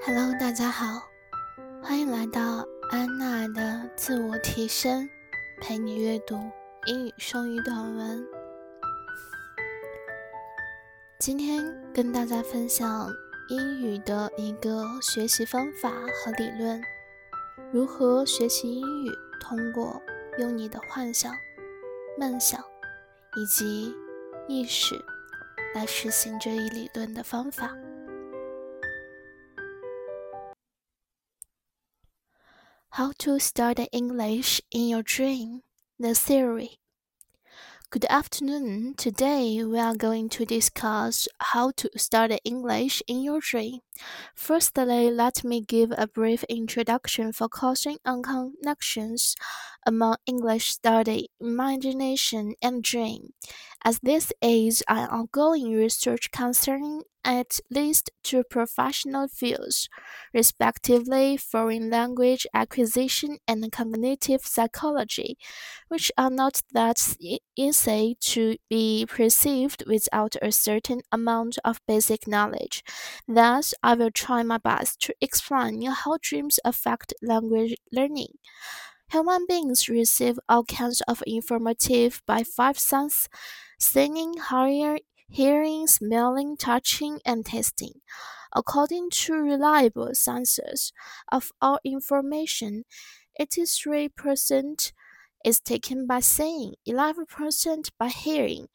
Hello，大家好，欢迎来到安娜的自我提升，陪你阅读英语双语短文。今天跟大家分享英语的一个学习方法和理论，如何学习英语，通过用你的幻想、梦想以及意识来实行这一理论的方法。How to study English in your dream, the theory. Good afternoon. Today we are going to discuss how to study English in your dream. Firstly, let me give a brief introduction focusing on connections among English study, imagination, and dream, as this is an ongoing research concerning at least two professional fields, respectively foreign language acquisition and cognitive psychology, which are not that easy to be perceived without a certain amount of basic knowledge. Thus, I will try my best to explain how dreams affect language learning. Human beings receive all kinds of information by five senses: seeing, hearing, smelling, touching, and tasting. According to reliable sources of all information, 83% is taken by seeing, 11% by hearing,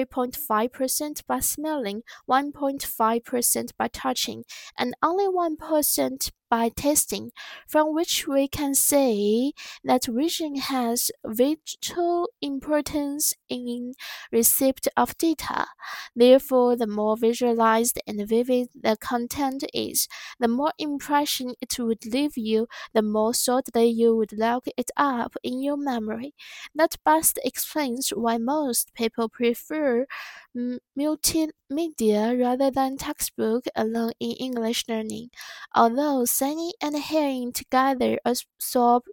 3.5% by smelling, 1.5% by touching, and only 1% by tasting, from which we can say that vision has vital importance in receipt of data. Therefore, the more visualized and vivid the content is, the more impression it would leave you, the more thoroughly you would lock it up in your memory. That best explains why most people prefer multimedia rather than textbook alone in English learning. Although seeing and hearing together absorb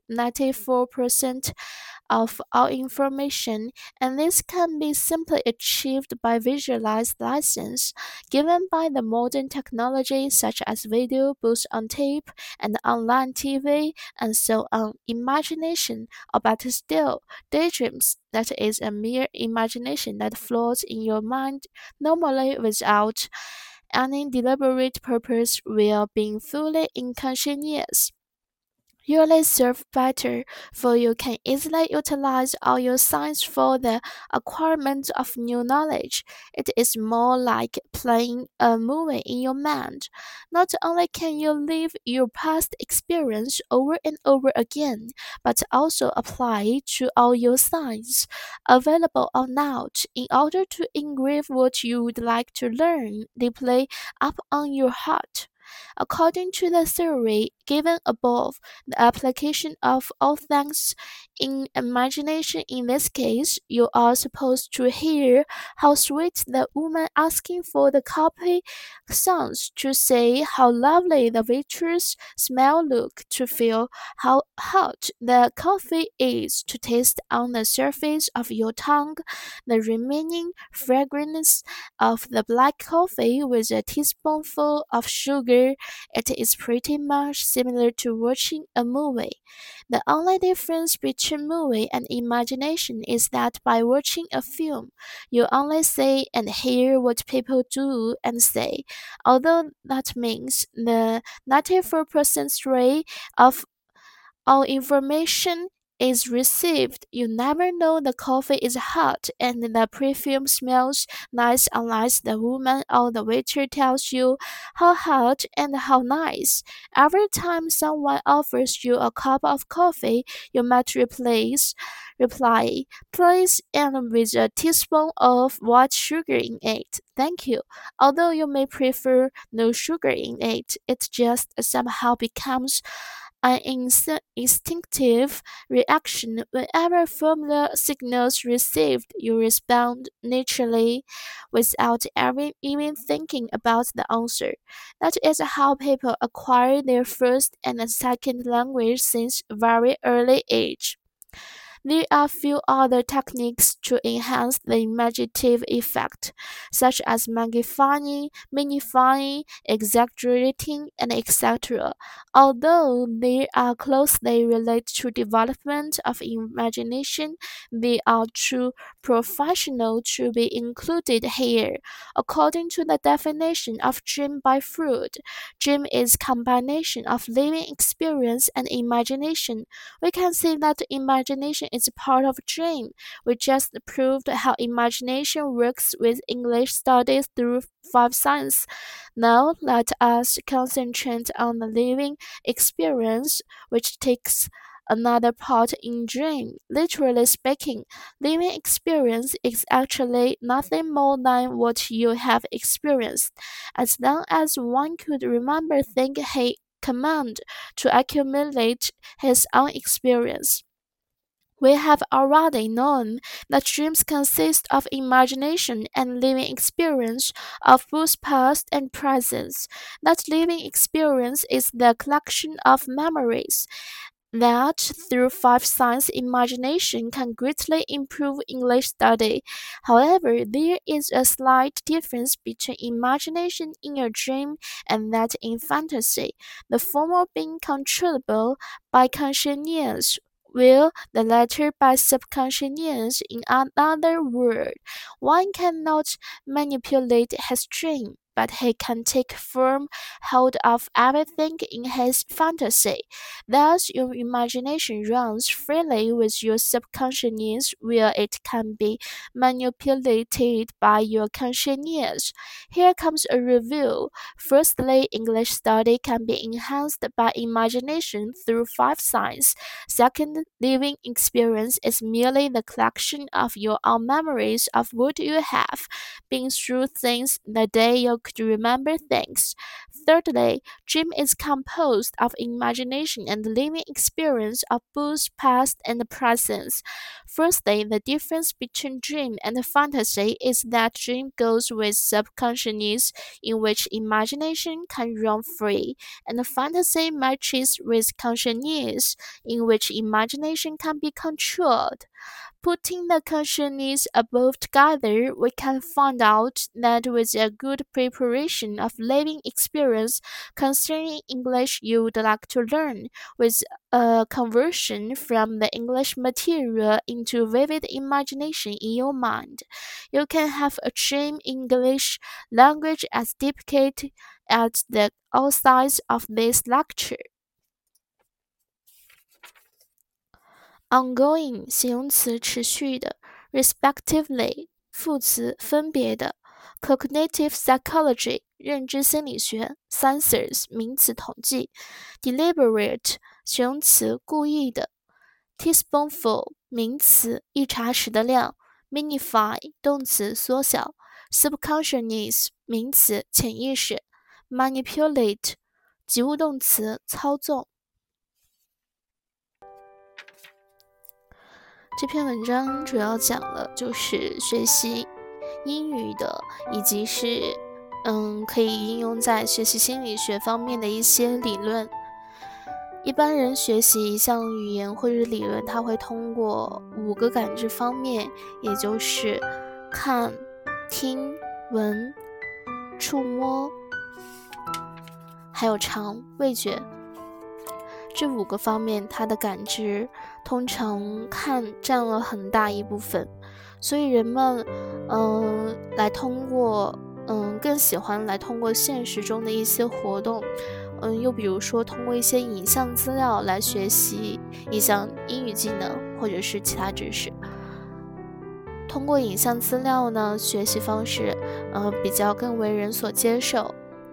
94% of all information, and this can be simply achieved by visualized lessons given by the modern technology such as video, books on tape, and online TV, and so on. Imagination, or better still, daydreams, that is a mere imagination that floats in your mind normally without any deliberate purpose while being fully unconscious, usually serve better, for you can easily utilize all your science for the acquirement of new knowledge. It is more like playing a movie in your mind. Not only can you live your past experience over and over again, but also apply it to all your science, available or not, in order to engrave what you would like to learn deeply up on your heart. According to the theory given above, the application of all things in imagination, in this case, you are supposed to hear how sweet the woman asking for the coffee sounds, to say how lovely the waitress smell look, to feel how hot the coffee is, to taste on the surface of your tongue the remaining fragrance of the black coffee with a teaspoonful of sugar. It is pretty much similar to watching a movie. The only difference between movie and imagination is that by watching a film, you only see and hear what people do and say, although that means the 94% rate of all information is received. You never know the coffee is hot and the perfume smells nice unless the woman or the waiter tells you how hot and how nice. Every time someone offers you a cup of coffee, you might reply, please, and with a teaspoon of white sugar in it. Thank you. Although you may prefer no sugar in it, it just somehow becomes an instinctive reaction. Whenever familiar signals received, you respond naturally without ever even thinking about the answer. That is how people acquire their first and second language since very early age. There are few other techniques to enhance the imaginative effect, such as magnifying, minifying, exaggerating, and etc. Although they are closely related to development of imagination, they are too professional to be included here. According to the definition of dream by Freud, dream is combination of living experience and imagination. We can see that imagination is part of dream. We just proved how imagination works with English studies through 5 signs. Now let us concentrate on the living experience, which takes another part in dream. Literally speaking, living experience is actually nothing more than what you have experienced. As long as one could remember things he command to accumulate his own experience. We have already known that dreams consist of imagination and living experience of both past and present. That living experience is the collection of memories that through 5 signs imagination can greatly improve English study. However, there is a slight difference between imagination in a dream and that in fantasy, the former being controllable by consciousness, while the latter by subconsciousness. In another word, one cannot manipulate his dream, but he can take firm hold of everything in his fantasy. Thus, your imagination runs freely with your subconsciousness, where it can be manipulated by your consciousness. Here comes a review. Firstly, English study can be enhanced by imagination through 5 signs. Second, living experience is merely the collection of your own memories of what you have been through things the day you could remember things. Thirdly, dream is composed of imagination and living experience of both past and present. Firstly, the difference between dream and fantasy is that dream goes with subconsciousness, in which imagination can run free, and fantasy matches with consciousness, in which imagination can be controlled. Putting the consciousness above together, we can find out that with a good preparation of living experience concerning English you would like to learn, with a conversion from the English material into vivid imagination in your mind, you can have a dream English language as depicted at the outsides of this lecture. Ongoing 形容词持续的 respectively 副词分别的 cognitive psychology 认知心理学 census 名词统计 deliberate 形容词故意的 teaspoonful 名词一茶匙的量 minify 动词缩小 subconsciousness 名词潜意识 manipulate 及物动词操纵。这篇文章主要讲了就是学习英语的，以及是可以应用在学习心理学方面的一些理论。一般人学习一项语言或者理论，他会通过5个感知方面，也就是看、听、闻、触摸，还有尝、味觉。这5个方面，它的感知通常看占了很大一部分，所以人们更喜欢来通过现实中的一些活动，又比如说通过一些影像资料来学习一项英语技能或者是其他知识。通过影像资料呢，学习方式比较更为人所接受，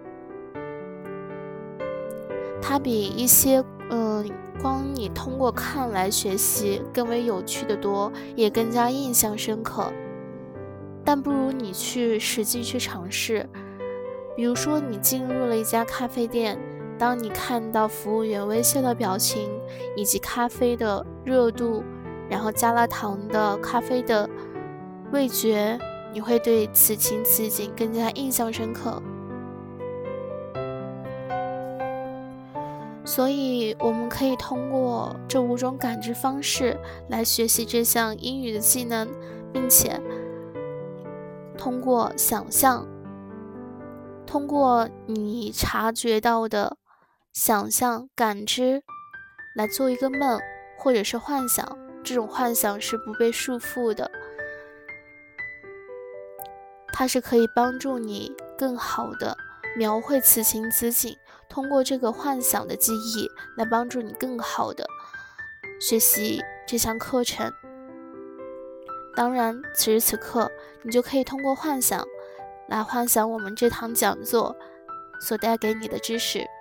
它比一些光你通过看来学习更为有趣的多，也更加印象深刻。但不如你去实际去尝试。比如说你进入了一家咖啡店，当你看到服务员微笑的表情，以及咖啡的热度，然后加了糖的咖啡的味觉，你会对此情此景更加印象深刻。 所以我们可以通过这5种感知方式来学习这项英语的技能，并且通过想象，通过你察觉到的想象感知来做一个梦或者是幻想，这种幻想是不被束缚的，它是可以帮助你更好的描绘此情此景，通过这个幻想的记忆来帮助你更好的学习这项课程。当然，此时此刻你就可以通过幻想来幻想我们这堂讲座所带给你的知识。